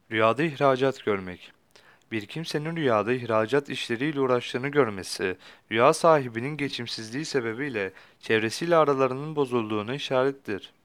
Rüyada ihracat görmek. Bir kimsenin rüyada ihracat işleriyle uğraştığını görmesi, rüya sahibinin geçimsizliği sebebiyle çevresiyle aralarının bozulduğuna işarettir.